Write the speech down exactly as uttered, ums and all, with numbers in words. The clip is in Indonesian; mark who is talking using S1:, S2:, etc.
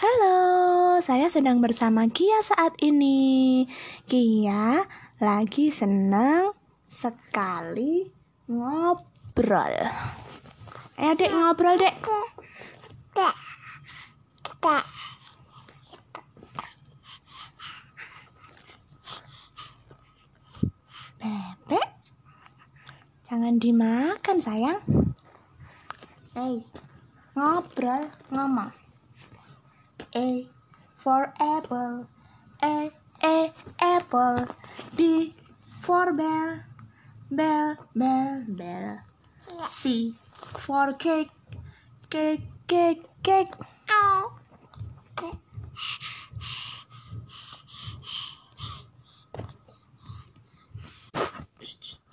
S1: Halo, saya sedang bersama Kia saat ini. Kia lagi senang sekali ngobrol. Ayo dek, ngobrol dek. Bebek, jangan dimakan sayang. Hey, ngobrol, ngomong. A for apple, A, A, apple. B for bell, bell, bell, bell. C for cake, cake, cake, cake.